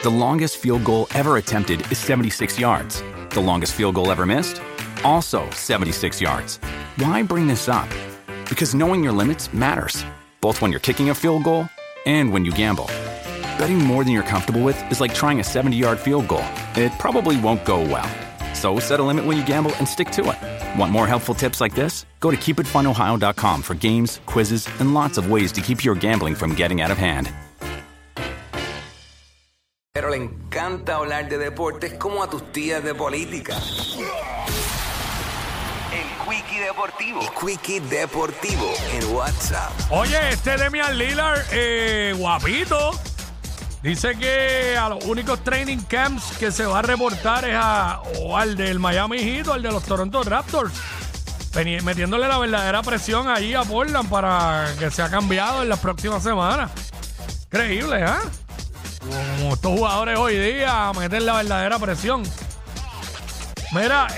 The longest field goal ever attempted is 76 yards. The longest field goal ever missed? Also 76 yards. Why bring this up? Because knowing your limits matters, both when you're kicking a field goal and when you gamble. Betting more than you're comfortable with is like trying a 70-yard field goal. It probably won't go well. So set a limit when you gamble and stick to it. Want more helpful tips like this? Go to keepitfunohio.com for games, quizzes, and lots of ways to keep your gambling from getting out of hand. Pero le encanta hablar de deportes como a tus tías de política. El Quickie Deportivo. El Quickie Deportivo en WhatsApp. Oye, Damian Lillard, guapito. Dice que a los únicos training camps que se va a reportar es al del Miami Heat o al de los Toronto Raptors. Metiéndole la verdadera presión ahí a Portland para que sea cambiado en las próximas semanas. Increíble, ¿eh? Como estos jugadores hoy día meten la verdadera presión. Mira,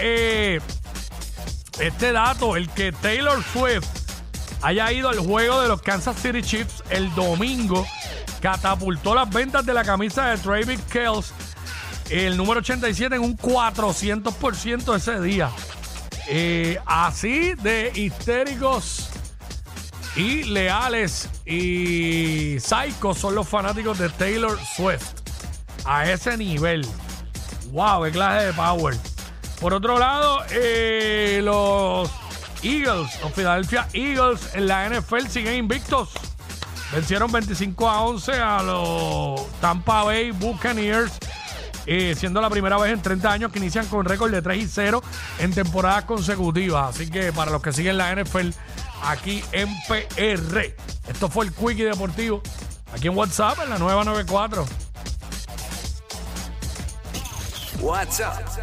este dato, el que Taylor Swift haya ido al juego de los Kansas City Chiefs el domingo, catapultó las ventas de la camisa de Travis Kelce, el número 87, en un 400% ese día. Así de histéricos y leales y psicos son los fanáticos de Taylor Swift. A ese nivel. ¡Wow! ¡Qué clase de power! Por otro lado, los Philadelphia Eagles en la NFL siguen invictos. Vencieron 25-11 a los Tampa Bay Buccaneers, siendo la primera vez en 30 años que inician con récord de 3-0 en temporadas consecutivas. Así que para los que siguen la NFL aquí en PR, esto fue el Quickie Deportivo aquí en WhatsApp en la nueva 94. WhatsApp